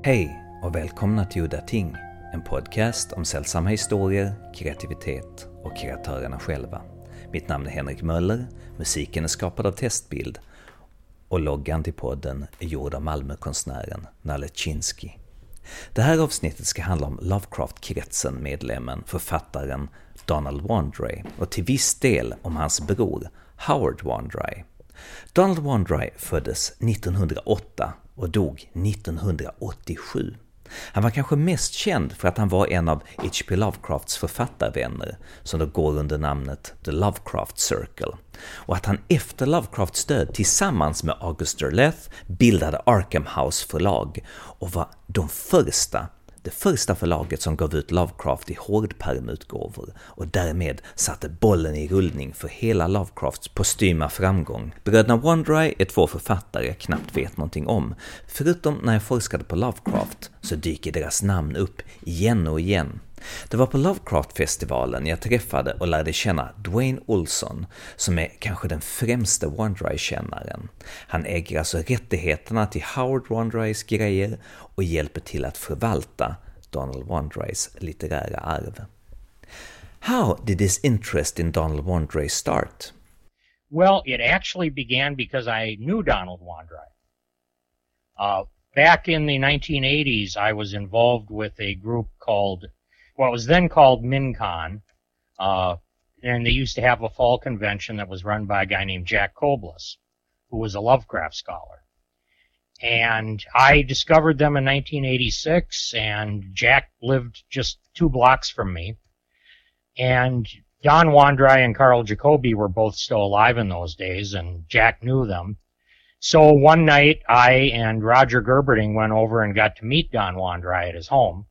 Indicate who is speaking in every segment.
Speaker 1: Hej och välkomna till Udda Ting, en podcast om sällsamma historier, kreativitet och kreatörerna själva. Mitt namn är Henrik Möller, musiken är skapad av Testbild och loggan till podden är gjord av Malmökonstnären Nalle Chinsky. Det här avsnittet ska handla om Lovecraft-kretsen-medlemmen, författaren Donald Wandrei och till viss del om hans bror Howard Wandrei. Donald Wandrei föddes 1908 och dog 1987. Han var kanske mest känd för att han var en av H.P. Lovecrafts författarvänner som då går under namnet The Lovecraft Circle, och att han efter Lovecrafts död tillsammans med August Derleth bildade Arkham House förlag och var det första förlaget som gav ut Lovecraft i hårdpärmutgåvor och därmed satte bollen i rullning för hela Lovecrafts postyma framgång. Bröderna Wandrei är två författare jag knappt vet någonting om, förutom när jag forskade på Lovecraft så dyker deras namn upp igen och igen. Det var på Lovecraft-festivalen jag träffade och lärde känna Dwayne Olson, som är kanske den främsta Wandrei-kännaren. Han äger alltså rättigheterna till Howard Wandreis grejer och hjälper till att förvalta Donald Wandreis litterära arv. How did this interest in Donald Wandrei start?
Speaker 2: Well, it actually began because I knew Donald Wandrei. Back in the 1980s, I was involved with a group called what was then called MinCon, and they used to have a fall convention that was run by a guy named Jack Koblis, who was a Lovecraft scholar. And I discovered them in 1986, and Jack lived just 2 blocks from me. And Don Wandrei and Carl Jacobi were both still alive in those days, and Jack knew them. So one night, I and Roger Gerberding went over and got to meet Don Wandrei at his home.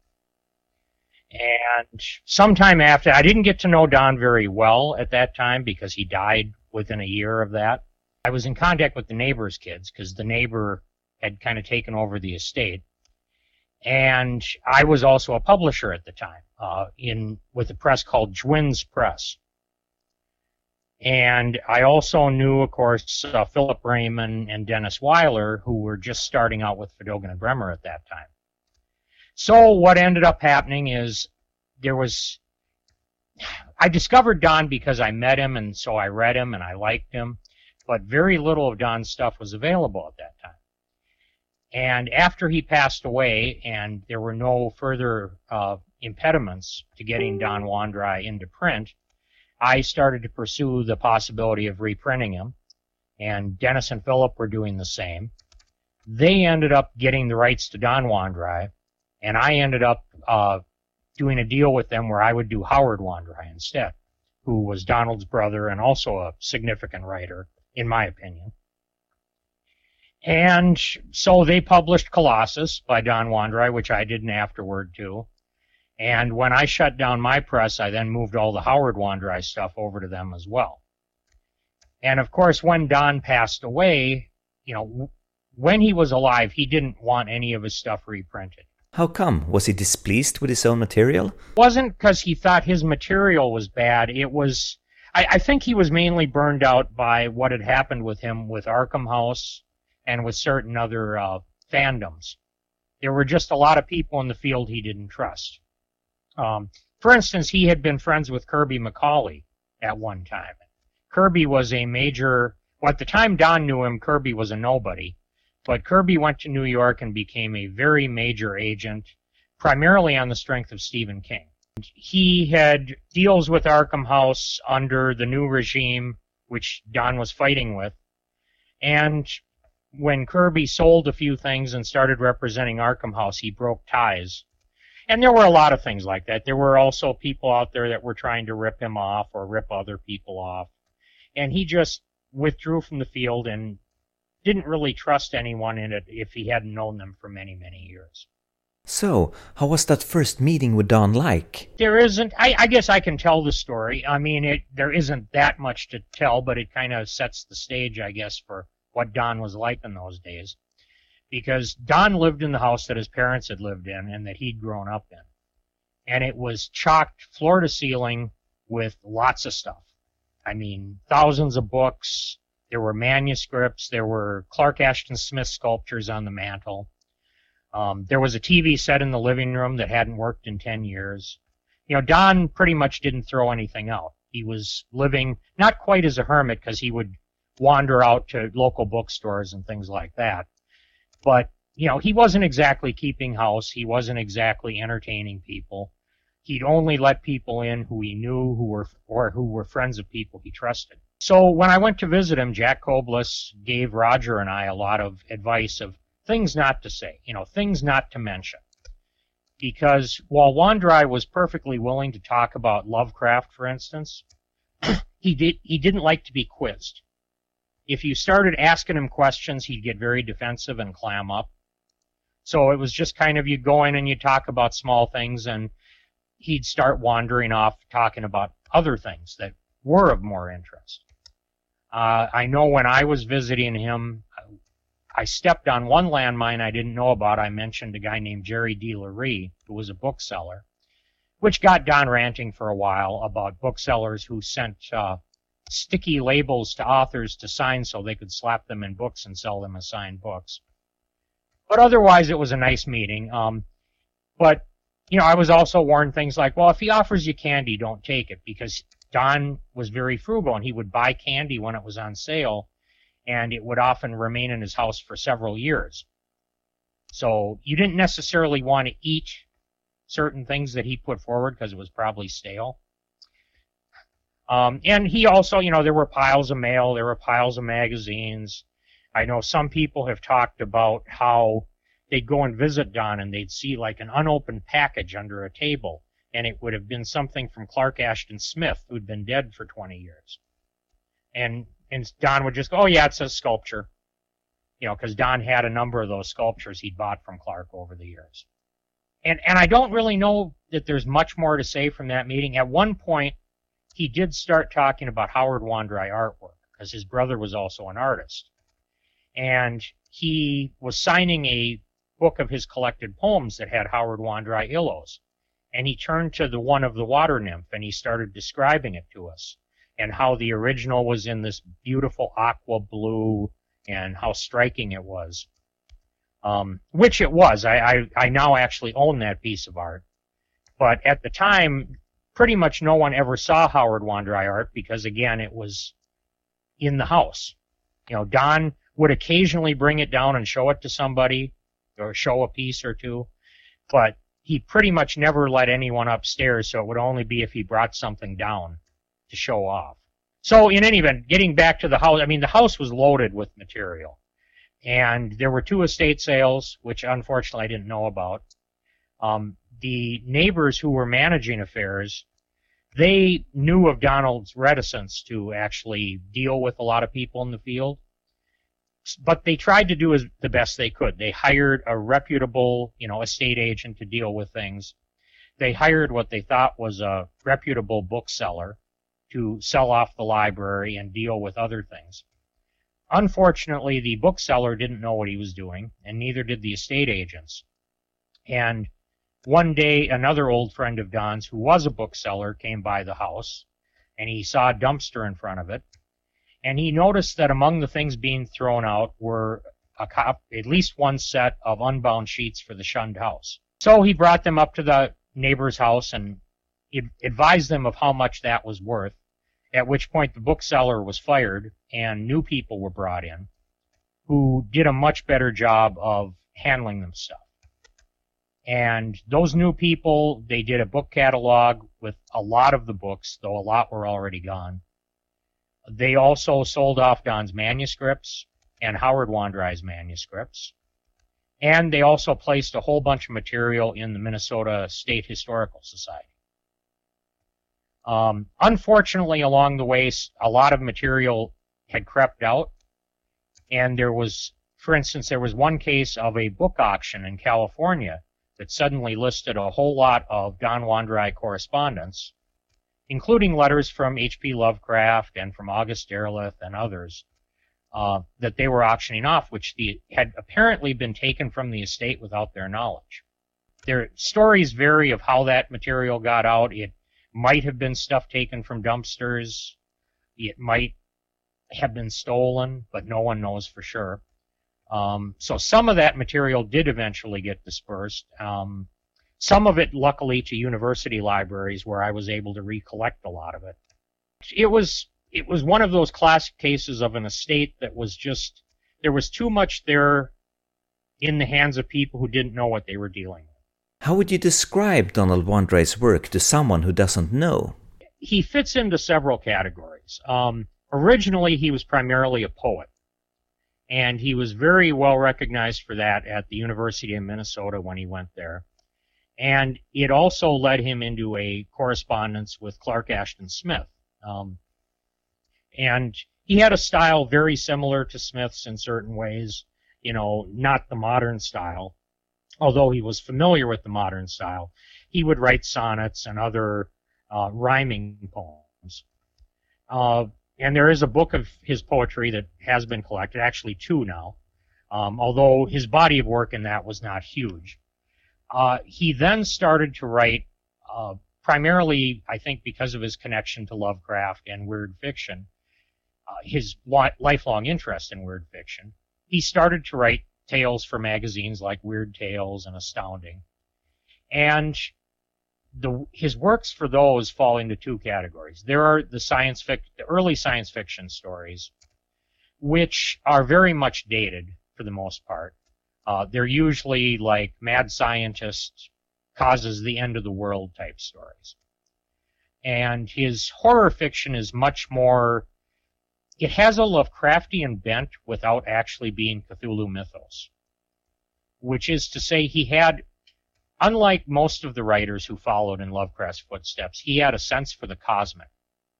Speaker 2: And sometime after, I didn't get to know Don very well at that time because he died within a year of that. I was in contact with the neighbor's kids because the neighbor had kind of taken over the estate. And I was also a publisher at the time, with a press called Jwin's Press. And I also knew, of course, Philip Raymond and Dennis Weiler, who were just starting out with Fedogan and Bremer at that time. So what ended up happening is I discovered Don because I met him, and so I read him and I liked him, but very little of Don's stuff was available at that time. And after he passed away and there were no further impediments to getting Don Wandrei into print, I started to pursue the possibility of reprinting him, and Dennis and Philip were doing the same. They ended up getting the rights to Don Wandrei, and I ended up doing a deal with them where I would do Howard Wandrei instead, who was Donald's brother and also a significant writer, in my opinion. And so they published Colossus by Don Wandrei, which I did an afterword too. And when I shut down my press, I then moved all the Howard Wandrei stuff over to them as well. And of course, when Don passed away, when he was alive, he didn't want any of his stuff reprinted.
Speaker 1: How come? Was he displeased with his own material?
Speaker 2: It wasn't because he thought his material was bad. It was, I think he was mainly burned out by what had happened with him with Arkham House and with certain other fandoms. There were just a lot of people in the field he didn't trust. For instance, he had been friends with Kirby McCauley at one time. Kirby was a major, well, at the time Don knew him, Kirby was a nobody. But Kirby went to New York and became a very major agent, primarily on the strength of Stephen King. He had deals with Arkham House under the new regime, which Don was fighting with. And when Kirby sold a few things and started representing Arkham House, he broke ties. And there were a lot of things like that. There were also people out there that were trying to rip him off or rip other people off. And he just withdrew from the field and didn't really trust anyone in it if he hadn't known them for many, many years.
Speaker 1: So, how was that first meeting with Don like?
Speaker 2: There isn't, I guess I can tell the story. I mean, there isn't that much to tell, but it kind of sets the stage, I guess, for what Don was like in those days. Because Don lived in the house that his parents had lived in and that he'd grown up in. And it was chocked floor to ceiling with lots of stuff. I mean, thousands of books. There were manuscripts. There were Clark Ashton Smith sculptures on the mantle. There was a TV set in the living room that hadn't worked in 10 years. Don pretty much didn't throw anything out. He was living not quite as a hermit because he would wander out to local bookstores and things like that. But, he wasn't exactly keeping house. He wasn't exactly entertaining people. He'd only let people in who he knew who were friends of people he trusted. So when I went to visit him, Jack Koblis gave Roger and I a lot of advice of things not to say, things not to mention. Because while Wandrei was perfectly willing to talk about Lovecraft, for instance, he didn't like to be quizzed. If you started asking him questions, he'd get very defensive and clam up. So it was just kind of you go in and you talk about small things, and he'd start wandering off talking about other things that were of more interest. I know when I was visiting him, I stepped on one landmine I didn't know about. I mentioned a guy named Jerry D. Laree, who was a bookseller, which got Don ranting for a while about booksellers who sent sticky labels to authors to sign so they could slap them in books and sell them as signed books. But otherwise, it was a nice meeting. But I was also warned things like, well, if he offers you candy, don't take it, because Don was very frugal, and he would buy candy when it was on sale, and it would often remain in his house for several years. So you didn't necessarily want to eat certain things that he put forward because it was probably stale. And he also, there were piles of mail, there were piles of magazines. I know some people have talked about how they'd go and visit Don and they'd see like an unopened package under a table, and it would have been something from Clark Ashton Smith, who'd been dead for 20 years. And Don would just go, oh yeah, it's a sculpture. Because Don had a number of those sculptures he'd bought from Clark over the years. And I don't really know that there's much more to say from that meeting. At one point, he did start talking about Howard Wandrei artwork, because his brother was also an artist. And he was signing a book of his collected poems that had Howard Wandrei illos. And he turned to the one of the water nymph, and he started describing it to us, and how the original was in this beautiful aqua blue, and how striking it was. Which it was. I now actually own that piece of art. But at the time, pretty much no one ever saw Howard Wandrei art because, again, it was in the house. Don would occasionally bring it down and show it to somebody or show a piece or two, but he pretty much never let anyone upstairs, so it would only be if he brought something down to show off. So in any event, getting back to the house, the house was loaded with material. And there were 2 estate sales, which unfortunately I didn't know about. The neighbors who were managing affairs, they knew of Donald's reticence to actually deal with a lot of people in the field. But they tried to do the best they could. They hired a reputable, estate agent to deal with things. They hired what they thought was a reputable bookseller to sell off the library and deal with other things. Unfortunately, the bookseller didn't know what he was doing, and neither did the estate agents. And one day, another old friend of Don's, who was a bookseller, came by the house, and he saw a dumpster in front of it, and he noticed that among the things being thrown out were at least one set of unbound sheets for the shunned house. So he brought them up to the neighbor's house and advised them of how much that was worth, at which point the bookseller was fired and new people were brought in who did a much better job of handling them stuff. And those new people, they did a book catalog with a lot of the books, though a lot were already gone. They also sold off Don's manuscripts and Howard Wandrei's manuscripts. And they also placed a whole bunch of material in the Minnesota State Historical Society. Unfortunately, along the way, a lot of material had crept out. And there was, for instance, there was one case of a book auction in California that suddenly listed a whole lot of Don Wandrei correspondence, including letters from H.P. Lovecraft and from August Derleth and others, that they were auctioning off, which had apparently been taken from the estate without their knowledge. Their stories vary of how that material got out. It might have been stuff taken from dumpsters. It might have been stolen, but no one knows for sure. So some of that material did eventually get dispersed. Some of it, luckily, to university libraries where I was able to recollect a lot of it. It was one of those classic cases of an estate that was just, there was too much there in the hands of people who didn't know what they were dealing with.
Speaker 1: How would you describe Donald Wandrei's work to someone who doesn't know?
Speaker 2: He fits into several categories. Originally, he was primarily a poet, and he was very well recognized for that at the University of Minnesota when he went there. And it also led him into a correspondence with Clark Ashton Smith. And he had a style very similar to Smith's in certain ways, not the modern style. Although he was familiar with the modern style, he would write sonnets and other rhyming poems. And there is a book of his poetry that has been collected, actually 2 now, although his body of work in that was not huge. He then started to write, primarily, I think, because of his connection to Lovecraft and weird fiction, his lifelong interest in weird fiction. He started to write tales for magazines like Weird Tales and Astounding. And his works for those fall into 2 categories. There are the early science fiction stories, which are very much dated for the most part. They're usually like mad scientist causes the end of the world type stories. And his horror fiction is much more, it has a Lovecraftian bent without actually being Cthulhu mythos. Which is to say, he had, unlike most of the writers who followed in Lovecraft's footsteps, he had a sense for the cosmic.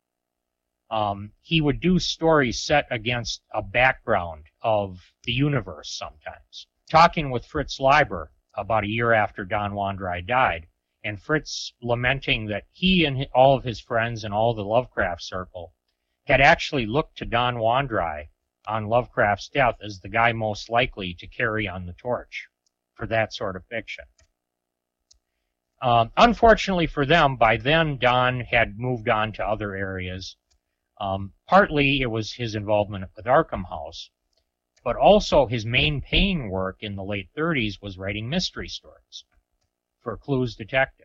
Speaker 2: He would do stories set against a background of the universe sometimes. Talking with Fritz Leiber about a year after Don Wandrei died, and Fritz lamenting that he and all of his friends and all the Lovecraft circle had actually looked to Don Wandrei on Lovecraft's death as the guy most likely to carry on the torch for that sort of fiction. Unfortunately for them, by then Don had moved on to other areas. Partly it was his involvement with Arkham House, but also his main paying work in the late 30s was writing mystery stories for Clues Detective.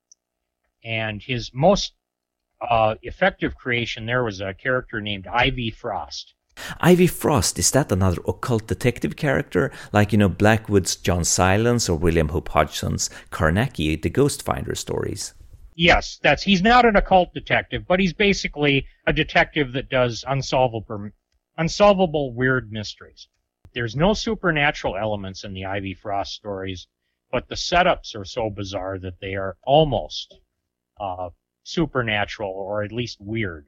Speaker 2: And his most effective creation there was a character named Ivy Frost.
Speaker 1: Ivy Frost, is that another occult detective character? Like, Blackwood's John Silence or William Hope Hodgson's Carnacki, the Ghost Finder stories?
Speaker 2: Yes, he's not an occult detective, but he's basically a detective that does unsolvable weird mysteries. There's no supernatural elements in the Ivy Frost stories, but the setups are so bizarre that they are almost supernatural, or at least weird.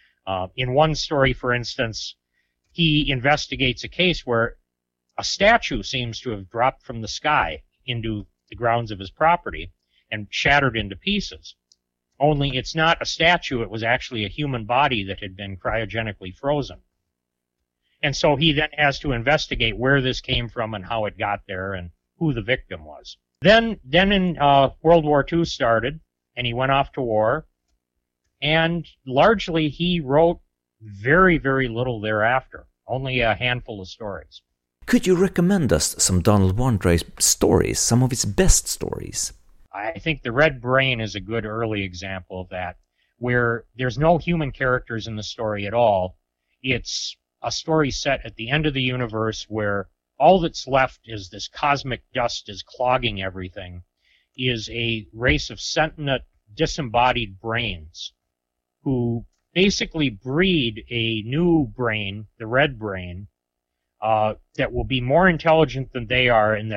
Speaker 2: In one story, for instance, he investigates a case where a statue seems to have dropped from the sky into the grounds of his property and shattered into pieces. Only it's not a statue, it was actually a human body that had been cryogenically frozen. And so he then has to investigate where this came from and how it got there and who the victim was. Then in World War II started, and he went off to war, and largely he wrote very, very little thereafter, only a handful of stories.
Speaker 1: Could you recommend us some Donald Wandrei stories, some of his best stories?
Speaker 2: I think The Red Brain is a good early example of that, where there's no human characters in the story at all. It's a story set at the end of the universe where all that's left is this cosmic dust is clogging everything, is a race of sentient, disembodied brains who basically breed a new brain, the Red Brain, that will be more intelligent than they are, and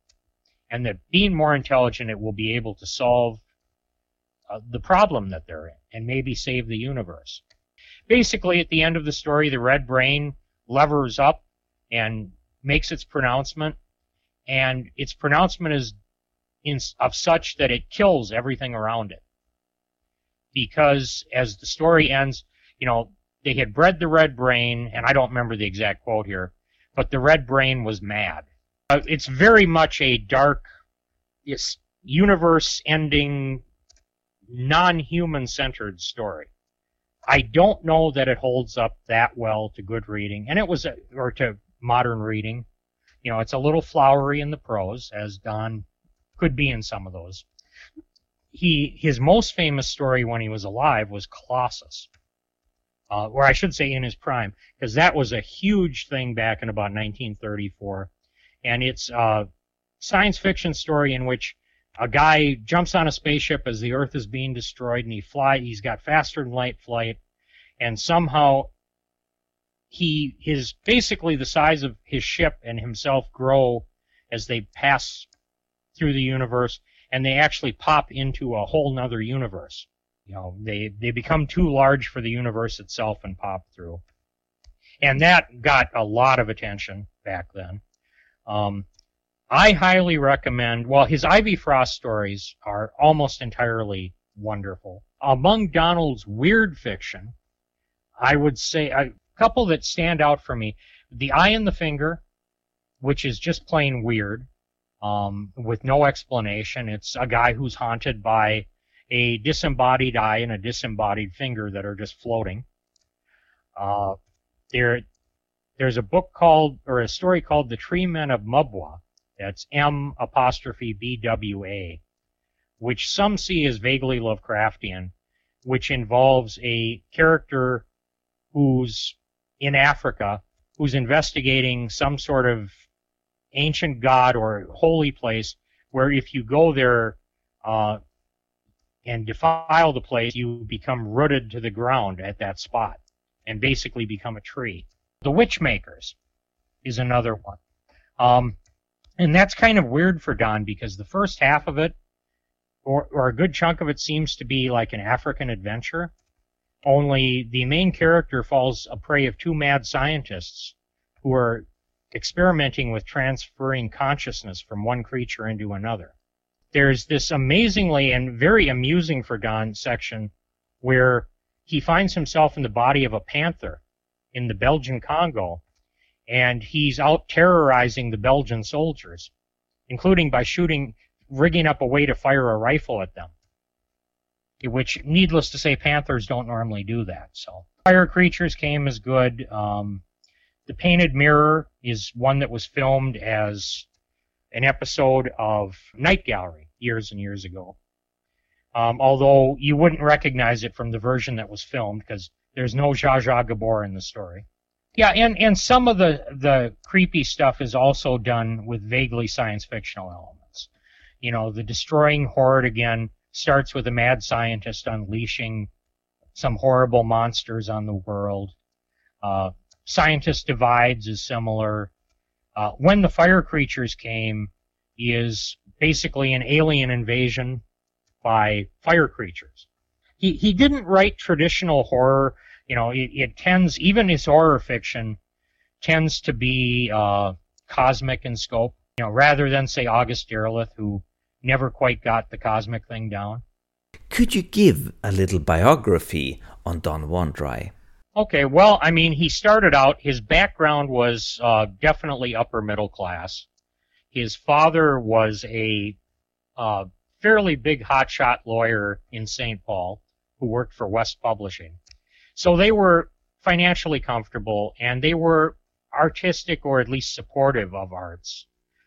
Speaker 2: that being more intelligent, it will be able to solve the problem that they're in and maybe save the universe. Basically, at the end of the story, the Red Brain levers up and makes its pronouncement, and its pronouncement is of such that it kills everything around it. Because as the story ends, they had bred the Red Brain, and I don't remember the exact quote here, but the Red Brain was mad. It's very much a dark, universe-ending, non-human-centered story. I don't know that it holds up that well to good reading, or to modern reading. It's a little flowery in the prose, as Don could be in some of those. His most famous story when he was alive was Colossus, or I should say in his prime, because that was a huge thing back in about 1934. And it's a science fiction story in which a guy jumps on a spaceship as the Earth is being destroyed, and he's got faster than light flight, and somehow his basically the size of his ship and himself grow as they pass through the universe, and they actually pop into a whole nother universe. They become too large for the universe itself and pop through. And that got a lot of attention back then. I highly recommend, his Ivy Frost stories are almost entirely wonderful. Among Donald's weird fiction, I would say a couple that stand out for me. The Eye and the Finger, which is just plain weird, with no explanation. It's a guy who's haunted by a disembodied eye and a disembodied finger that are just floating. There's a book a story called The Tree Men of Mubwa. That's M''BWA, which some see as vaguely Lovecraftian, which involves a character who's in Africa, who's investigating some sort of ancient god or holy place, where if you go there and defile the place, you become rooted to the ground at that spot and basically become a tree. The Witchmakers is another one. And that's kind of weird for Don, because the first half of it, or a good chunk of it, seems to be like an African adventure, only the main character falls a prey of two mad scientists who are experimenting with transferring consciousness from one creature into another. There's this amazingly and very amusing for Don section where he finds himself in the body of a panther in the Belgian Congo, and he's out terrorizing the Belgian soldiers, including by rigging up a way to fire a rifle at them, which, needless to say, panthers don't normally do that. So Fire Creatures came as good. The Painted Mirror is one that was filmed as an episode of Night Gallery years and years ago, although you wouldn't recognize it from the version that was filmed because there's no Zsa Zsa Gabor in the story. Yeah, and some of the creepy stuff is also done with vaguely science fictional elements. The Destroying Horde, again, starts with a mad scientist unleashing some horrible monsters on the world. Scientist Divides is similar. When the Fire Creatures came is basically an alien invasion by fire creatures. He didn't write traditional horror. It tends, even his horror fiction tends to be cosmic in scope, rather than, say, August Derleth, who never quite got the cosmic thing down.
Speaker 1: Could you give a little biography on Don Wandrei?
Speaker 2: Okay, well, he started out, his background was definitely upper middle class. His father was a fairly big hotshot lawyer in St. Paul who worked for West Publishing. So they were financially comfortable, and they were artistic, or at least supportive of arts.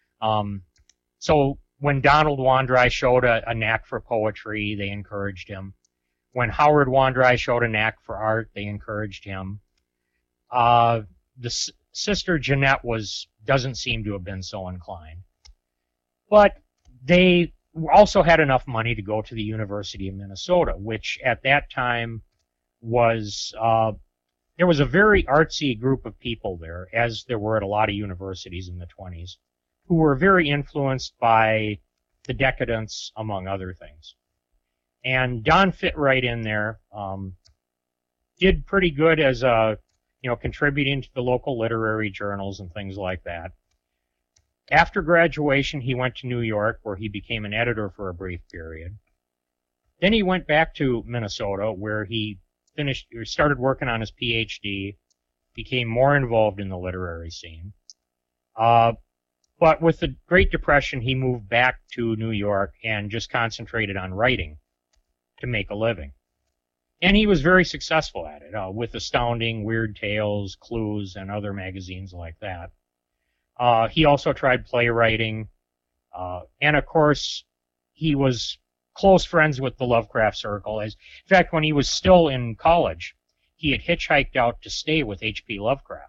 Speaker 2: So when Donald Wandrei showed a knack for poetry, they encouraged him. When Howard Wandrei showed a knack for art, they encouraged him. The sister Jeanette doesn't seem to have been so inclined. But they also had enough money to go to the University of Minnesota, which at that time was, there was a very artsy group of people there, as there were at a lot of universities in the 1920s, who were very influenced by the decadence, among other things. And Don fit right in there, did pretty good as contributing to the local literary journals and things like that. After graduation, he went to New York, where he became an editor for a brief period. Then he went back to Minnesota, where he started working on his PhD, became more involved in the literary scene. But with the Great Depression, he moved back to New York and just concentrated on writing to make a living. And he was very successful at it, with Astounding, Weird Tales, Clues, and other magazines like that. He also tried playwriting. And of course, he was close friends with the Lovecraft Circle. In fact, when he was still in college, he had hitchhiked out to stay with H.P. Lovecraft.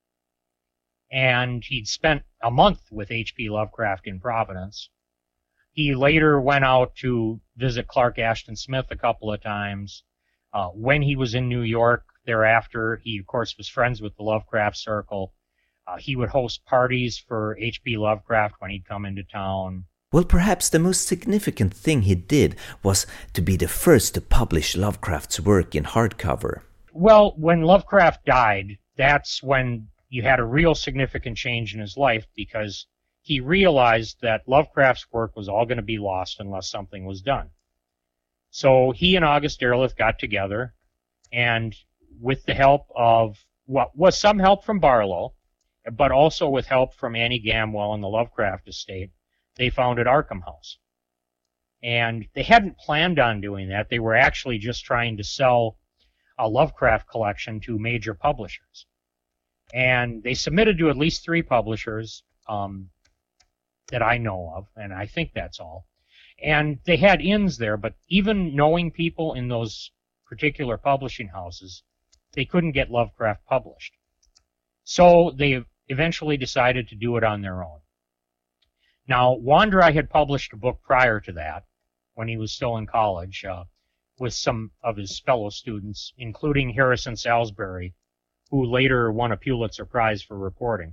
Speaker 2: And he'd spent a month with H.P. Lovecraft in Providence. He later went out to visit Clark Ashton Smith a couple of times. When he was in New York thereafter, he, of course, was friends with the Lovecraft Circle. He would host parties for H.P. Lovecraft when he'd come into town.
Speaker 1: Well, perhaps the most significant thing he did was to be the first to publish Lovecraft's work in hardcover.
Speaker 2: Well, when Lovecraft died, that's when you had a real significant change in his life, because he realized that Lovecraft's work was all going to be lost unless something was done. So he and August Derleth got together, and with the help of what was some help from Barlow, but also with help from Annie Gamwell and the Lovecraft estate, they founded Arkham House. And they hadn't planned on doing that. They were actually just trying to sell a Lovecraft collection to major publishers. And they submitted to at least 3 publishers that I know of, and I think that's all. And they had ins there, but even knowing people in those particular publishing houses, they couldn't get Lovecraft published. So they eventually decided to do it on their own. Now, Wandrei had published a book prior to that, when he was still in college, with some of his fellow students, including Harrison Salisbury, who later won a Pulitzer Prize for reporting.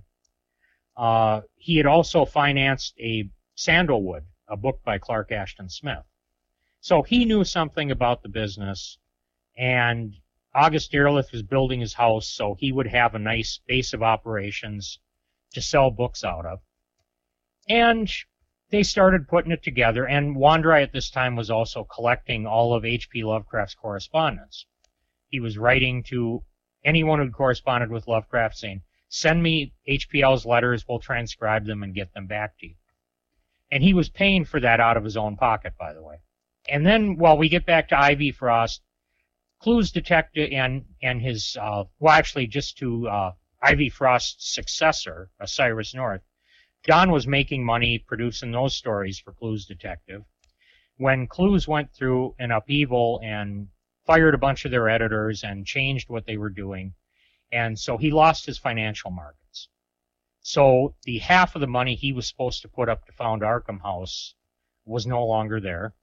Speaker 2: He had also financed a Sandalwood, a book by Clark Ashton Smith. So he knew something about the business, and August Derleth was building his house so he would have a nice base of operations to sell books out of. And they started putting it together, and Wandrei at this time was also collecting all of H.P. Lovecraft's correspondence. He was writing to anyone who'd corresponded with Lovecraft saying, send me HPL's letters, we'll transcribe them and get them back to you. And he was paying for that out of his own pocket, by the way. And then, while we get back to Ivy Frost, Clues Detective and his, just to Ivy Frost's successor, Cyrus North, Don was making money producing those stories for Clues Detective. When Clues went through an upheaval and fired a bunch of their editors and changed what they were doing, and so he lost his financial markets. So the half of the money he was supposed to put up to found Arkham House was no longer there.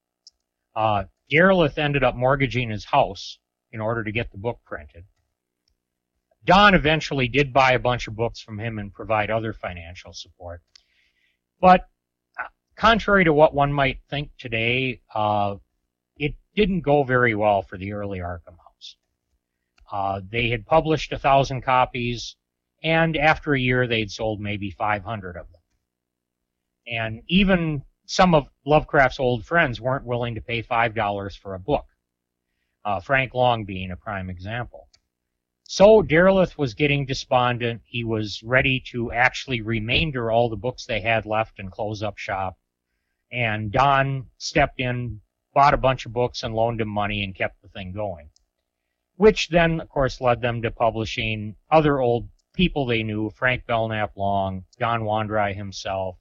Speaker 2: Derleth ended up mortgaging his house in order to get the book printed. Don eventually did buy a bunch of books from him and provide other financial support. But contrary to what one might think today, it didn't go very well for the early Arkham House. They had published 1,000 copies, and after a year they'd sold maybe 500 of them. And even some of Lovecraft's old friends weren't willing to pay $5 for a book, Frank Long being a prime example. So Derleth was getting despondent. He was ready to actually remainder all the books they had left and close up shop. And Don stepped in, bought a bunch of books and loaned him money and kept the thing going. Which then, of course, led them to publishing other old people they knew, Frank Belknap Long, Don Wandrei himself,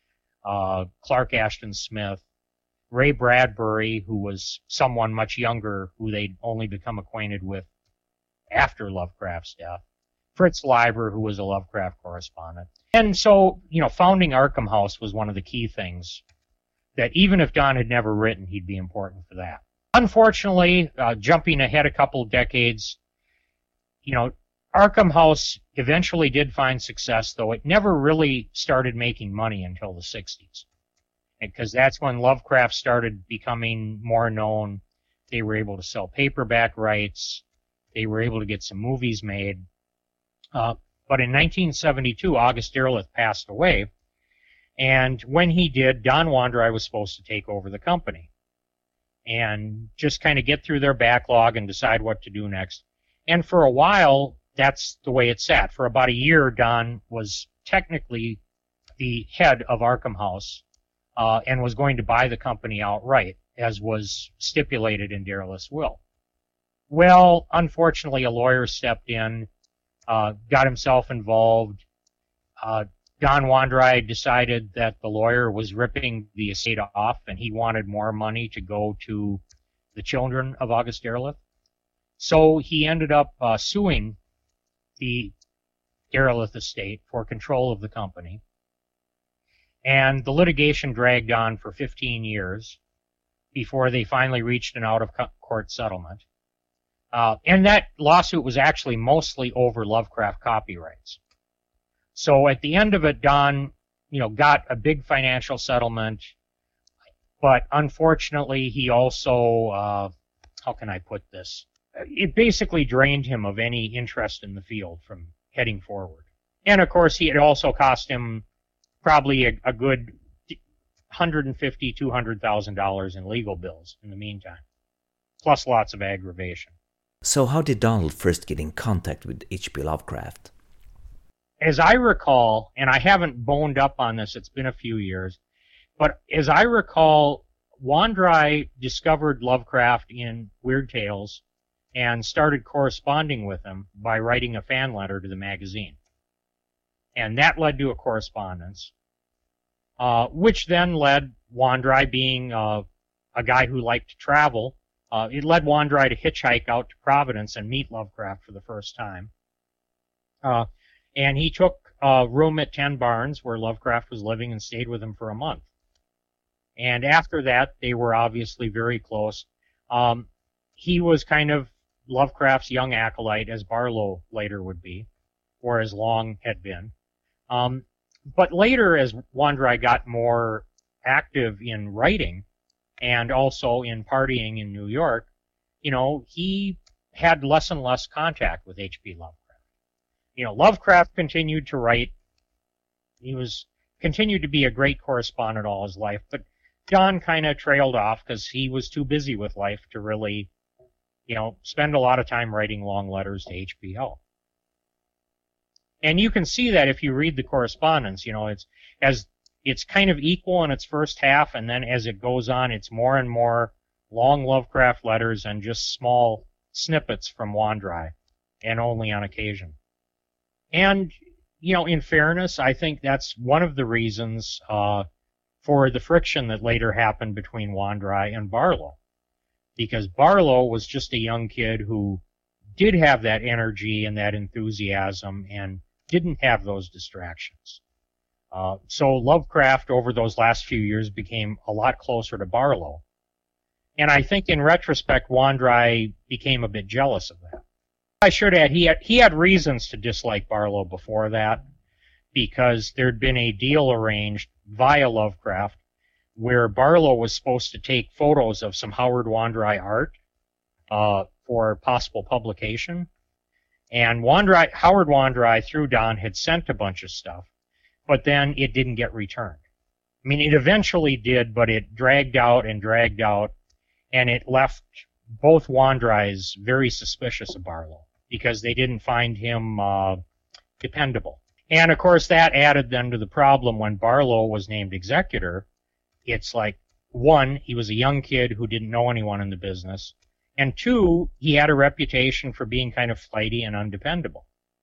Speaker 2: Clark Ashton Smith, Ray Bradbury, who was someone much younger who they'd only become acquainted with after Lovecraft's death, Fritz Leiber, who was a Lovecraft correspondent. And so, founding Arkham House was one of the key things that even if Don had never written, he'd be important for that. Unfortunately, jumping ahead a couple of decades, Arkham House eventually did find success, though it never really started making money until the 60s. Because that's when Lovecraft started becoming more known. They were able to sell paperback rights. They were able to get some movies made. But in 1972, August Derleth passed away. And when he did, Don Wandrei was supposed to take over the company and just kind of get through their backlog and decide what to do next. And for a while, that's the way it sat. For about a year, Don was technically the head of Arkham House and was going to buy the company outright, as was stipulated in Derleth's will. Well, unfortunately, a lawyer stepped in, got himself involved. Don Wandrei decided that the lawyer was ripping the estate off and he wanted more money to go to the children of August Derleth. So he ended up suing the Derleth estate for control of the company. And the litigation dragged on for 15 years before they finally reached an out-of-court settlement. And that lawsuit was actually mostly over Lovecraft copyrights. So at the end of it, Don, got a big financial settlement, but unfortunately he also, how can I put this? It basically drained him of any interest in the field from heading forward. And of course, it also cost him probably a good $150,000, $200,000 in legal bills in the meantime, plus lots of aggravation.
Speaker 1: So how did Donald first get in contact with H.P. Lovecraft?
Speaker 2: As I recall, and I haven't boned up on this, it's been a few years, but as I recall, Wandrei discovered Lovecraft in Weird Tales and started corresponding with him by writing a fan letter to the magazine. And that led to a correspondence, which then led Wandrei, being a guy who liked to travel, it led Wandrei to hitchhike out to Providence and meet Lovecraft for the first time. And he took a room at 10 Barnes where Lovecraft was living and stayed with him for a month. And after that, they were obviously very close. He was kind of Lovecraft's young acolyte, as Barlow later would be, or as Long had been. But later, as Wandrei got more active in writing and also in partying in New York, he had less and less contact with H.P. Lovecraft. Lovecraft continued to write. He continued to be a great correspondent all his life, but Don kind of trailed off because he was too busy with life to really, spend a lot of time writing long letters to HBO. And you can see that if you read the correspondence, it's kind of equal in its first half, and then as it goes on, it's more and more long Lovecraft letters and just small snippets from Wandrei, and only on occasion. And, in fairness, I think that's one of the reasons for the friction that later happened between Wandrei and Barlow. Because Barlow was just a young kid who did have that energy and that enthusiasm and didn't have those distractions. So Lovecraft, over those last few years, became a lot closer to Barlow. And I think in retrospect, Wandrei became a bit jealous of that. I should add, he had reasons to dislike Barlow before that, because there'd been a deal arranged via Lovecraft where Barlow was supposed to take photos of some Howard Wandrei art for possible publication. And Howard Wandrei, through Don, had sent a bunch of stuff, but then it didn't get returned. I mean, it eventually did, but it dragged out, and it left both Wandreis very suspicious of Barlow, because they didn't find him dependable. And, of course, that added then to the problem when Barlow was named executor. It's like, one, he was a young kid who didn't know anyone in the business, and two, he had a reputation for being kind of flighty and undependable.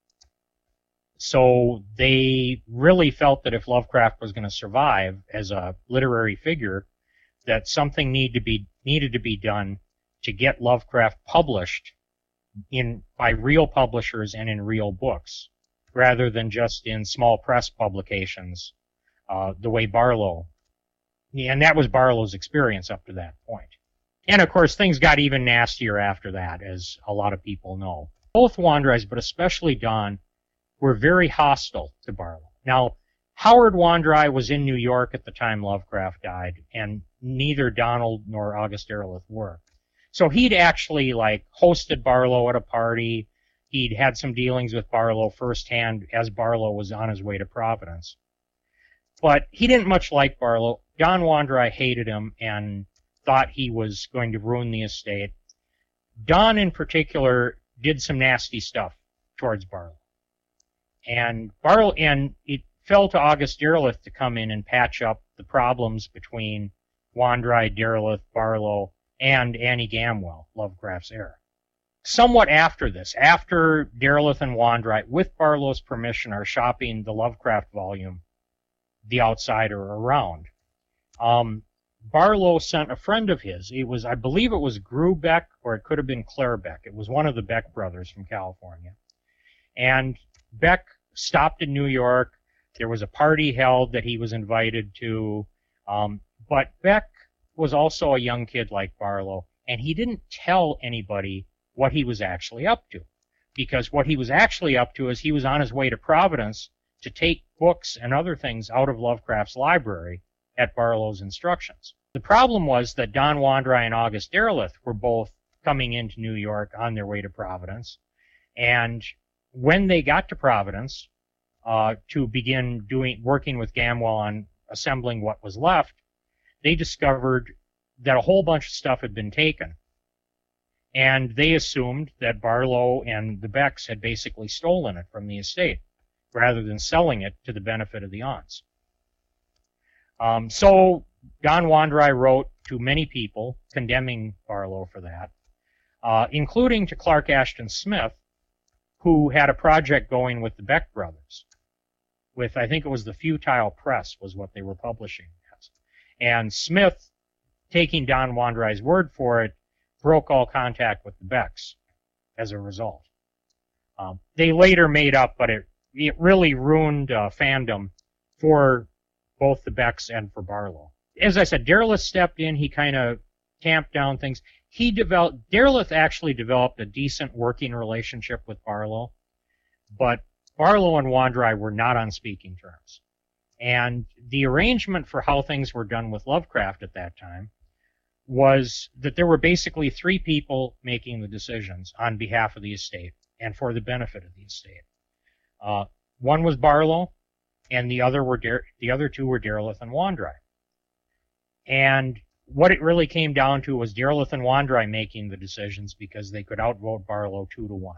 Speaker 2: So they really felt that if Lovecraft was going to survive as a literary figure, that something needed to be done to get Lovecraft published by real publishers and in real books, rather than just in small press publications, the way Barlow. And that was Barlow's experience up to that point. And of course, things got even nastier after that, as a lot of people know. Both Wandreis, but especially Don, were very hostile to Barlow. Now, Howard Wandrei was in New York at the time Lovecraft died, and neither Donald nor August Derleth were. So he'd actually hosted Barlow at a party. He'd had some dealings with Barlow firsthand as Barlow was on his way to Providence. But he didn't much like Barlow. Don Wandrei hated him and thought he was going to ruin the estate. Don, in particular, did some nasty stuff towards Barlow. And it fell to August Derleth to come in and patch up the problems between Wandrei, Derleth, Barlow, and Annie Gamwell, Lovecraft's heir. Somewhat after this, after Derleth and Wandrei, with Barlow's permission, are shopping the Lovecraft volume the outsider around. Barlow sent a friend of his. I believe it was Gru Beck, or it could have been Claire Beck. It was one of the Beck brothers from California. And Beck stopped in New York. There was a party held that he was invited to. But Beck was also a young kid like Barlow, and he didn't tell anybody what he was actually up to. Because what he was actually up to is he was on his way to Providence to take books and other things out of Lovecraft's library at Barlow's instructions. The problem was that Don Wandrei and August Derleth were both coming into New York on their way to Providence, and when they got to Providence to begin working with Gamwell on assembling what was left, they discovered that a whole bunch of stuff had been taken, and they assumed that Barlow and the Becks had basically stolen it from the estate rather than selling it to the benefit of the aunts. So Don Wandrei wrote to many people condemning Barlow for that, including to Clark Ashton Smith, who had a project going with the Beck brothers. With, I think it was the Futile Press was what they were publishing as. And Smith, taking Don Wandrei's word for it, broke all contact with the Becks as a result. They later made up, but it really ruined fandom for both the Becks and for Barlow. As I said, Derleth stepped in. He kind of tamped down things. Derleth actually developed a decent working relationship with Barlow, but Barlow and Wandrei were not on speaking terms. And the arrangement for how things were done with Lovecraft at that time was that there were basically three people making the decisions on behalf of the estate and for the benefit of the estate. One was Barlow, and the other two were Derleth and Wandrei. And what it really came down to was Derleth and Wandrei making the decisions because they could outvote Barlow 2-1.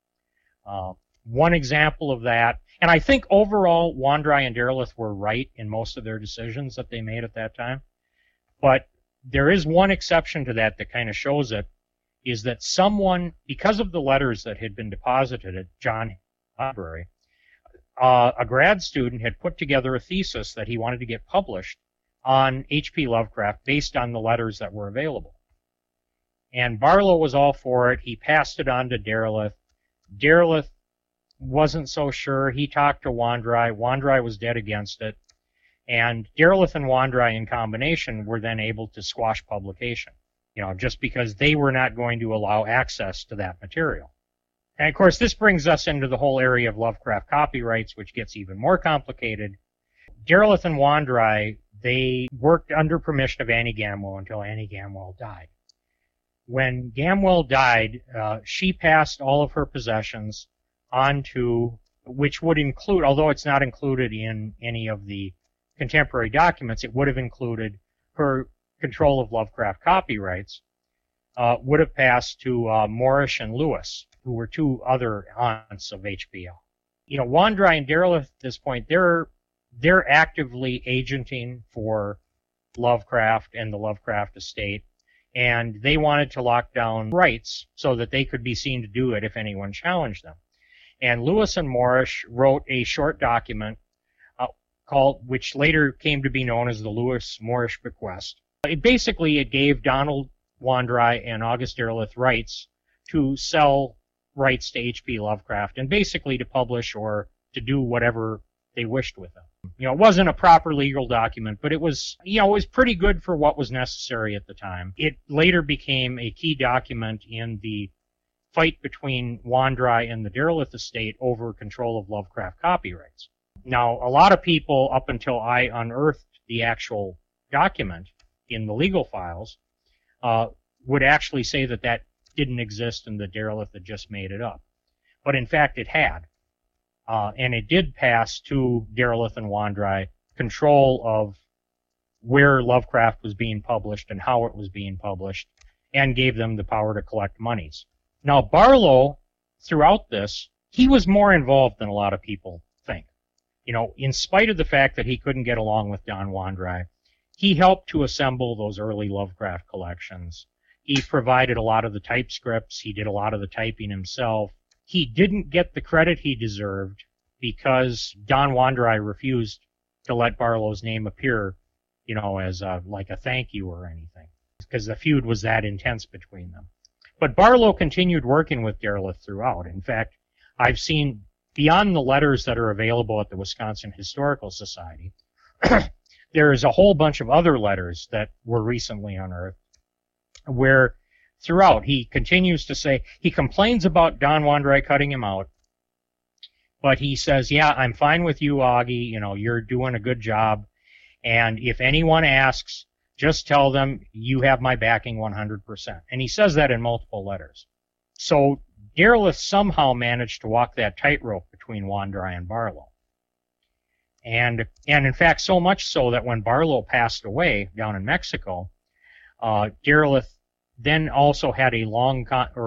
Speaker 2: One example of that, and I think overall Wandrei and Derleth were right in most of their decisions that they made at that time, but there is one exception to that kind of shows it, is that someone, because of the letters that had been deposited at John Library, a grad student had put together a thesis that he wanted to get published on H.P. Lovecraft based on the letters that were available. And Barlow was all for it. He passed it on to Derleth. Derleth wasn't so sure. He talked to Wandrei. Wandrei was dead against it. And Derleth and Wandrei in combination were then able to squash publication, just because they were not going to allow access to that material. And of course, this brings us into the whole area of Lovecraft copyrights, which gets even more complicated. Derleth and Wandrei, they worked under permission of Annie Gamwell until Annie Gamwell died. When Gamwell died, she passed all of her possessions onto, which would include, although it's not included in any of the contemporary documents, it would have included her control of Lovecraft copyrights, would have passed to Morrish and Lewis, who were two other aunts of HBO. Wandrei and Derleth at this point, they're actively agenting for Lovecraft and the Lovecraft estate, and they wanted to lock down rights so that they could be seen to do it if anyone challenged them. And Lewis and Morrish wrote a short document which later came to be known as the Lewis-Morrish Bequest. It gave Donald Wandrei and August Derleth rights to sell rights to H.P. Lovecraft and basically to publish or to do whatever they wished with them. It wasn't a proper legal document, but it was pretty good for what was necessary at the time. It later became a key document in the fight between Wandrei and the Derleth estate over control of Lovecraft copyrights. Now, a lot of people, up until I unearthed the actual document in the legal files, would actually say that didn't exist and the Derleth had just made it up. But in fact, it had. And it did pass to Derleth and Wandrei control of where Lovecraft was being published and how it was being published, and gave them the power to collect monies. Now, Barlow, throughout this, he was more involved than a lot of people think. In spite of the fact that he couldn't get along with Don Wandrei, he helped to assemble those early Lovecraft collections. He provided a lot of the typescripts. He did a lot of the typing himself. He didn't get the credit he deserved because Don Wandrei refused to let Barlow's name appear, as like a thank you or anything, because the feud was that intense between them. But Barlow continued working with Derleth throughout. In fact, I've seen, beyond the letters that are available at the Wisconsin Historical Society, there is a whole bunch of other letters that were recently unearthed where throughout he continues to say, he complains about Don Wandrei cutting him out, but he says, yeah, I'm fine with you, Augie, you're doing a good job, and if anyone asks, just tell them you have my backing 100%. And he says that in multiple letters. So Derleth somehow managed to walk that tightrope between Wandrei and Barlow. And in fact, so much so that when Barlow passed away down in Mexico, Derleth then also had a long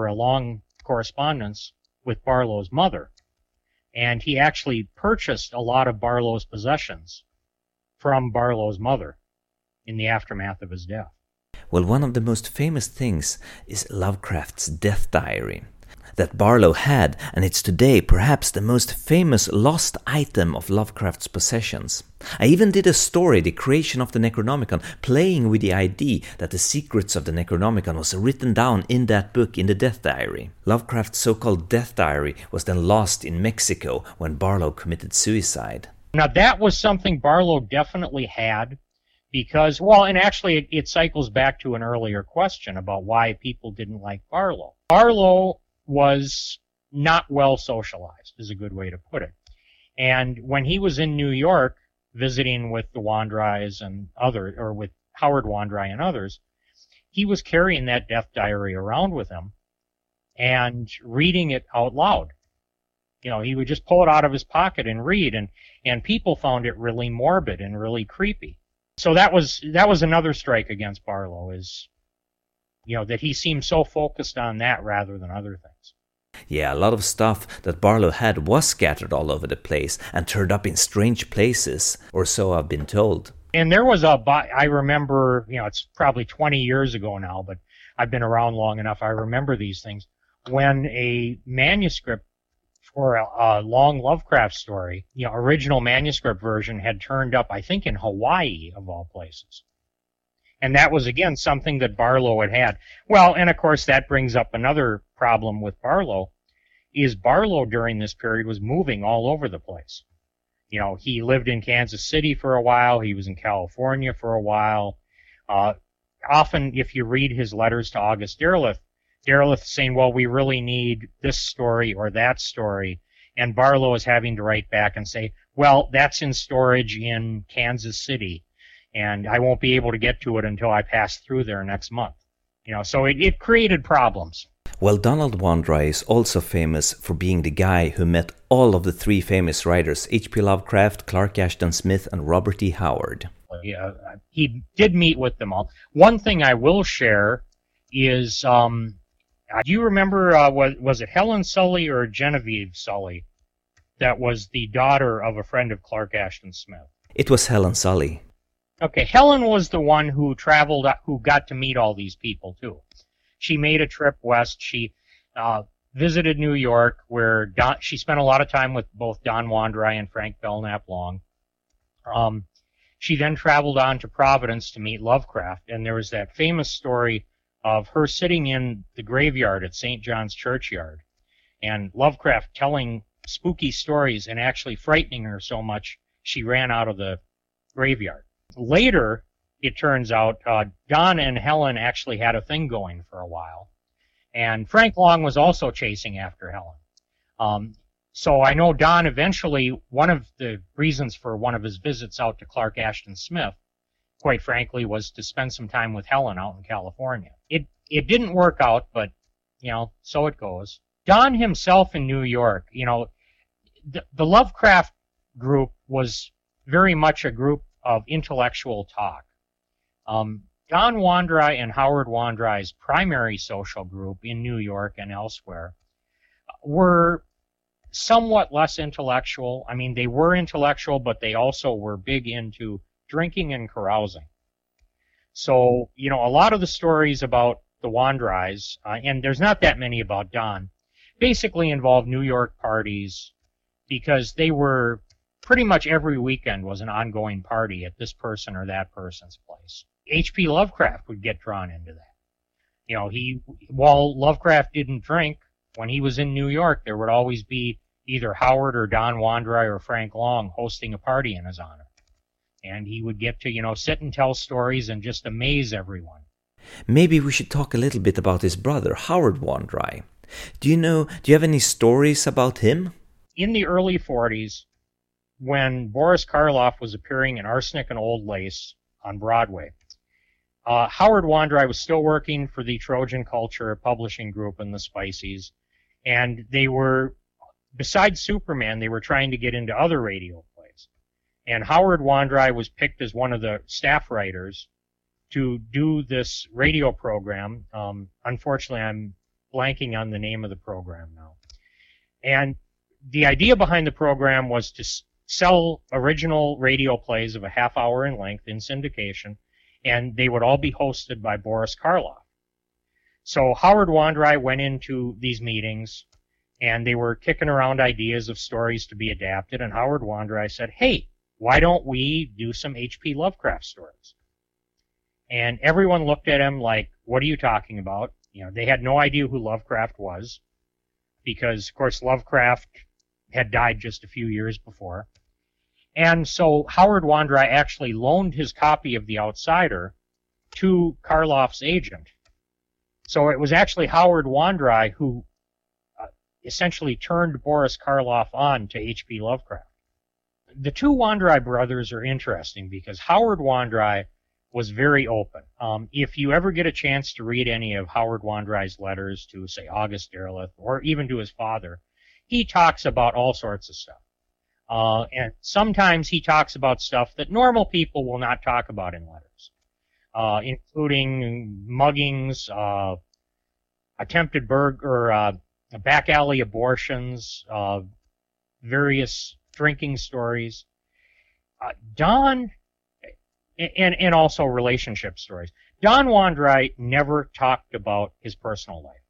Speaker 2: correspondence with Barlow's mother. And he actually purchased a lot of Barlow's possessions from Barlow's mother in the aftermath of his death.
Speaker 1: Well, one of the most famous things is Lovecraft's death diary that Barlow had, and it's today perhaps the most famous lost item of Lovecraft's possessions. I even did a story, The Creation of the Necronomicon, playing with the idea that the secrets of the Necronomicon was written down in that book in the death diary. Lovecraft's so-called death diary was then lost in Mexico when Barlow committed suicide.
Speaker 2: Now that was something Barlow definitely had, because, and actually it cycles back to an earlier question about why people didn't like Barlow. Barlow was not well socialized, is a good way to put it. And when he was in New York visiting with the Wandreis and with Howard Wandrei and others, he was carrying that death diary around with him and reading it out loud. He would just pull it out of his pocket and read, and people found it really morbid and really creepy. So that was another strike against Barlow, is that he seemed so focused on that rather than other things.
Speaker 1: Yeah, a lot of stuff that Barlow had was scattered all over the place and turned up in strange places, or so I've been told.
Speaker 2: And there was I remember, it's probably 20 years ago now, but I've been around long enough, I remember these things, when a manuscript for a long Lovecraft story, original manuscript version had turned up, I think in Hawaii, of all places. And that was, again, something that Barlow had. Well, and of course that brings up another problem with Barlow, is Barlow during this period was moving all over the place. He lived in Kansas City for a while, he was in California for a while. Often, if you read his letters to August Derleth saying, well, we really need this story or that story, and Barlow is having to write back and say, well, that's in storage in Kansas City, and I won't be able to get to it until I pass through there next month. So it created problems.
Speaker 1: Well, Donald Wandrei is also famous for being the guy who met all of the three famous writers, H.P. Lovecraft, Clark Ashton Smith, and Robert E. Howard.
Speaker 2: Yeah, he did meet with them all. One thing I will share is, do you remember, was it Helen Sully or Genevieve Sully that was the daughter of a friend of Clark Ashton Smith?
Speaker 1: It was Helen Sully.
Speaker 2: Okay, Helen was the one who traveled, who got to meet all these people, too. She made a trip west. She visited New York, where she spent a lot of time with both Don Wandrei and Frank Belknap Long. She then traveled on to Providence to meet Lovecraft, and there was that famous story of her sitting in the graveyard at St. John's Churchyard, and Lovecraft telling spooky stories and actually frightening her so much she ran out of the graveyard. Later, it turns out, Don and Helen actually had a thing going for a while, and Frank Long was also chasing after Helen. So I know Don eventually, one of the reasons for one of his visits out to Clark Ashton Smith, quite frankly, was to spend some time with Helen out in California. It didn't work out, but, so it goes. Don himself in New York, the Lovecraft group was very much a group of intellectual talk. Don Wandrei and Howard Wandrei's primary social group in New York and elsewhere were somewhat less intellectual. I mean, they were intellectual, but they also were big into drinking and carousing. So, a lot of the stories about the Wandreis, and there's not that many about Don, basically involve New York parties, because they were pretty much every weekend was an ongoing party at this person or that person's place. H.P. Lovecraft would get drawn into that. You know, while Lovecraft didn't drink, when he was in New York, there would always be either Howard or Don Wandrei or Frank Long hosting a party in his honor. And he would get to, sit and tell stories and just amaze everyone.
Speaker 1: Maybe we should talk a little bit about his brother, Howard Wandrei. Do you have any stories about him?
Speaker 2: In the early 40s, when Boris Karloff was appearing in Arsenic and Old Lace on Broadway, Howard Wandrei was still working for the Trojan Culture publishing group in the Spiceys, and they were, besides Superman, they were trying to get into other radio plays. And Howard Wandrei was picked as one of the staff writers to do this radio program. Unfortunately, I'm blanking on the name of the program now. And the idea behind the program was to sell original radio plays of a half hour in length in syndication, and they would all be hosted by Boris Karloff. So Howard Wandrei went into these meetings, and they were kicking around ideas of stories to be adapted, and Howard Wandrei said, hey, why don't we do some H.P. Lovecraft stories? And everyone looked at him like, what are you talking about? They had no idea who Lovecraft was, because, of course, Lovecraft had died just a few years before. And so Howard Wandrei actually loaned his copy of The Outsider to Karloff's agent. So it was actually Howard Wandrei who essentially turned Boris Karloff on to H.P. Lovecraft. The two Wandrei brothers are interesting because Howard Wandrei was very open. If you ever get a chance to read any of Howard Wandrei's letters to, say, August Derleth, or even to his father, he talks about all sorts of stuff. And sometimes he talks about stuff that normal people will not talk about in letters, including muggings, attempted back alley abortions, various drinking stories. Don, and also relationship stories. Don Wandrei never talked about his personal life.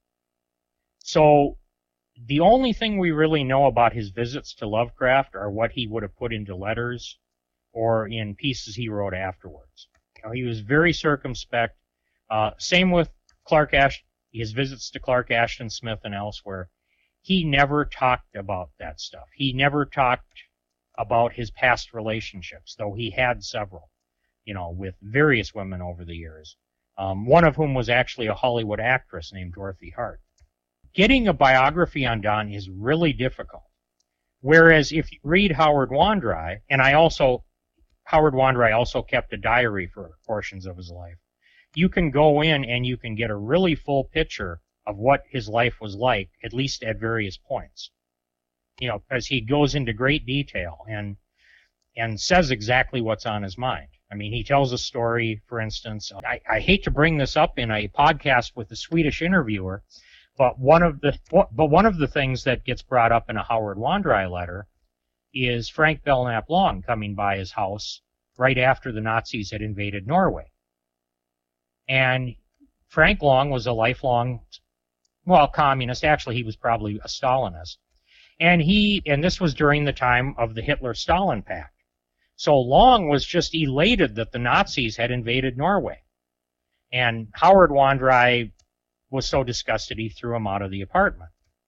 Speaker 2: So the only thing we really know about his visits to Lovecraft are what he would have put into letters or in pieces he wrote afterwards. He was very circumspect. Same with Clark Ashton, his visits to Clark Ashton Smith and elsewhere. He never talked about that stuff. He never talked about his past relationships, though he had several, with various women over the years. One of whom was actually a Hollywood actress named Dorothy Hart. Getting a biography on Don is really difficult. Whereas if you read Howard Wandrei, Howard Wandrei also kept a diary for portions of his life, you can go in and you can get a really full picture of what his life was like, at least at various points. Because he goes into great detail and says exactly what's on his mind. I mean, he tells a story, for instance, I hate to bring this up in a podcast with a Swedish interviewer, but one of the things that gets brought up in a Howard Wandrei letter is Frank Belknap Long coming by his house right after the Nazis had invaded Norway. And Frank Long was a lifelong, communist. Actually, he was probably a Stalinist. And this was during the time of the Hitler-Stalin Pact. So Long was just elated that the Nazis had invaded Norway. And Howard Wandrei was so disgusted he threw him out of the apartment.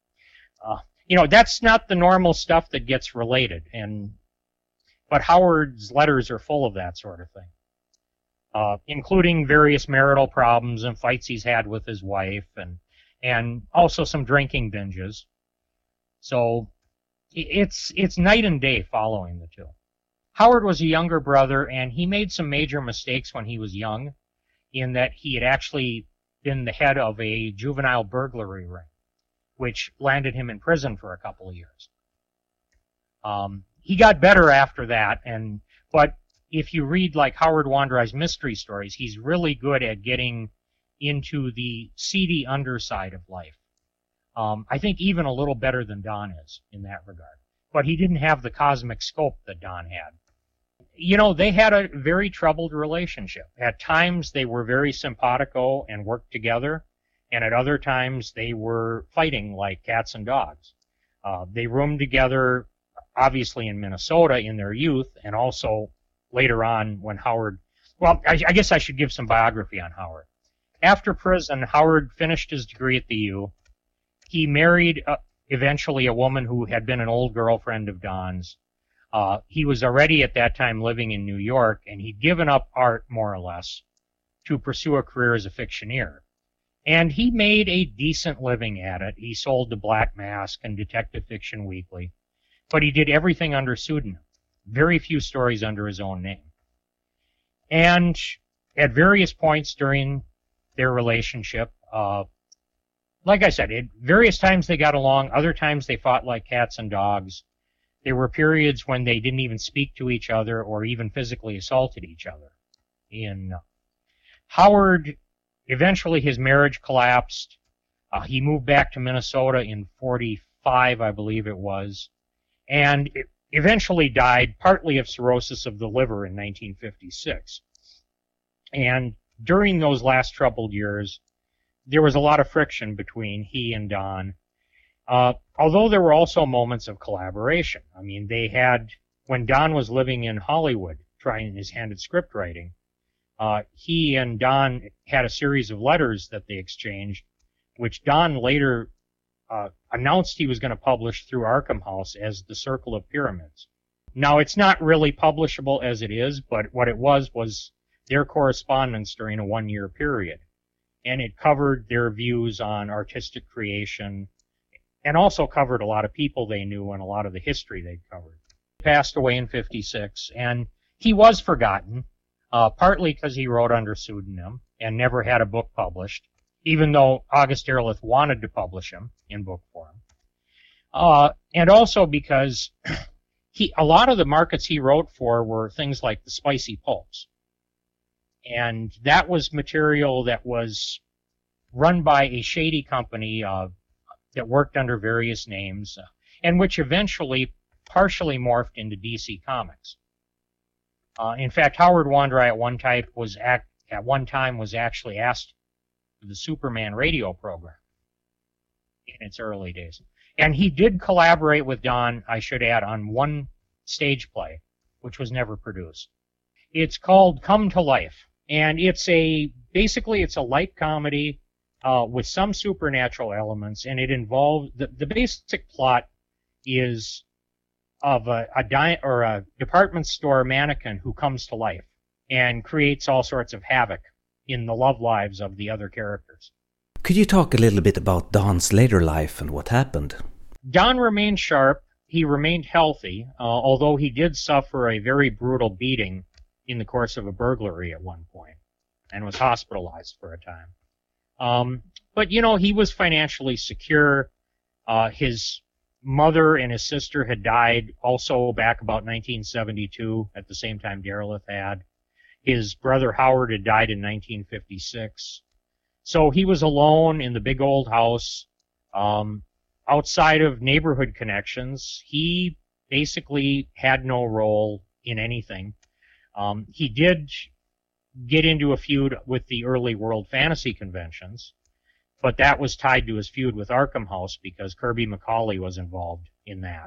Speaker 2: That's not the normal stuff that gets related, but Howard's letters are full of that sort of thing, including various marital problems and fights he's had with his wife, and also some drinking binges. So it's night and day following the two. Howard was a younger brother, and he made some major mistakes when he was young, in that he had actually been the head of a juvenile burglary ring, which landed him in prison for a couple of years. He got better after that, but if you read like Howard Wandrei's mystery stories, he's really good at getting into the seedy underside of life. I think even a little better than Don is in that regard. But he didn't have the cosmic scope that Don had. They had a very troubled relationship. At times they were very simpatico and worked together, and at other times they were fighting like cats and dogs. They roomed together obviously in Minnesota in their youth, and also later on when Howard, well, I guess I should give some biography on Howard. After prison, Howard finished his degree at the U. He married eventually a woman who had been an old girlfriend of Don's. He was already at that time living in New York, and he'd given up art, more or less, to pursue a career as a fictioneer. And he made a decent living at it. He sold the Black Mask and Detective Fiction Weekly, but he did everything under pseudonym. Very few stories under his own name. And at various points during their relationship, like I said, at various times they got along, other times they fought like cats and dogs. There were periods when they didn't even speak to each other or even physically assaulted each other. Howard, eventually his marriage collapsed. He moved back to Minnesota in 45, I believe it was, and eventually died partly of cirrhosis of the liver in 1956. And during those last troubled years, there was a lot of friction between he and Don. Although there were also moments of collaboration. I mean, they had, when Don was living in Hollywood, trying his hand at script writing, he and Don had a series of letters that they exchanged, which Don later announced he was going to publish through Arkham House as The Circle of Pyramids. Now, it's not really publishable as it is, but what it was their correspondence during a one-year period. And it covered their views on artistic creation, and also covered a lot of people they knew and a lot of the history they'd covered. He passed away in 56, and he was forgotten, partly because he wrote under pseudonym and never had a book published, even though August Derleth wanted to publish him in book form. And also because a lot of the markets he wrote for were things like the spicy pulps. And that was material that was run by a shady company that worked under various names, and which eventually partially morphed into DC Comics. In fact, Howard Wondrei at one time was actually asked for the Superman radio program in its early days. And he did collaborate with Don, I should add, on one stage play, which was never produced. It's called Come to Life, and basically it's a light comedy with some supernatural elements, and it involves the basic plot is of a department store mannequin who comes to life and creates all sorts of havoc in the love lives of the other characters.
Speaker 1: Could you talk a little bit about Don's later life and what happened?
Speaker 2: Don remained sharp. He remained healthy, although he did suffer a very brutal beating in the course of a burglary at one point and was hospitalized for a time. But, he was financially secure. His mother and his sister had died also back about 1972, at the same time Derleth had. His brother Howard had died in 1956. So he was alone in the big old house. Outside of neighborhood connections, he basically had no role in anything. He did get into a feud with the early World Fantasy conventions, but that was tied to his feud with Arkham House because Kirby McCauley was involved in that.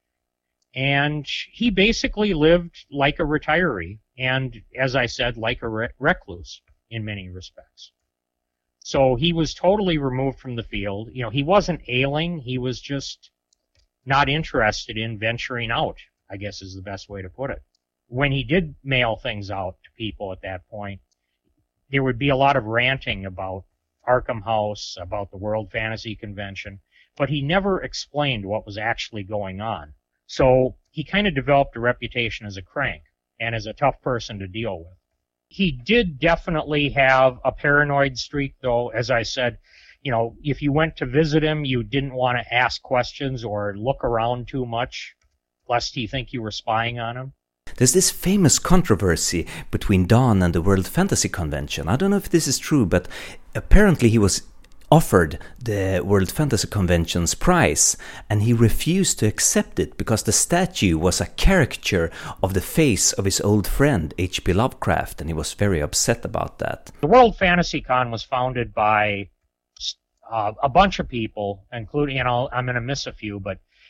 Speaker 2: And he basically lived like a retiree and, as I said, like a recluse in many respects. So he was totally removed from the field. He wasn't ailing. He was just not interested in venturing out, I guess is the best way to put it. When he did mail things out to people at that point, there would be a lot of ranting about Arkham House, about the World Fantasy Convention, but he never explained what was actually going on. So he kind of developed a reputation as a crank and as a tough person to deal with. He did definitely have a paranoid streak, though. As I said, if you went to visit him, you didn't want to ask questions or look around too much, lest he think you were spying on him.
Speaker 1: There's this famous controversy between Don and the World Fantasy Convention. I don't know if this is true, but apparently he was offered the World Fantasy Convention's prize, and he refused to accept it because the statue was a caricature of the face of his old friend H.P. Lovecraft, and he was very upset about that.
Speaker 2: The World Fantasy Con was founded by a bunch of people, including, I'm going to miss a few, but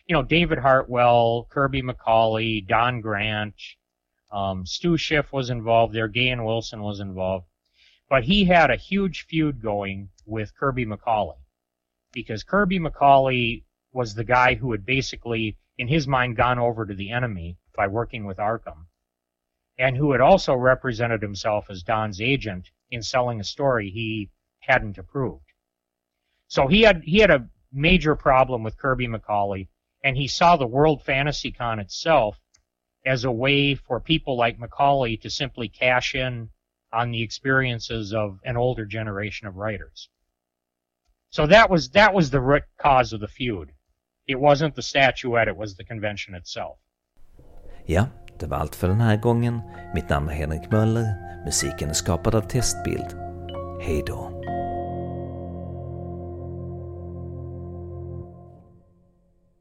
Speaker 2: David Hartwell, Kirby McCauley, Don Grant, Stu Schiff was involved there, Gahan Wilson was involved. But he had a huge feud going with Kirby McCauley, because Kirby McCauley was the guy who had basically, in his mind, gone over to the enemy by working with Arkham, and who had also represented himself as Don's agent in selling a story he hadn't approved. So he had a major problem with Kirby McCauley, and he saw the World Fantasy Con itself as a way for people like McCauley to simply cash in on the experiences of an older generation of writers. So that was the root cause of the feud. It wasn't the statuette, it was the convention itself.
Speaker 1: Ja, det var allt för den här gången. Mitt namn är Henrik Möller. Musiken är skapad av Testbild. Hej då.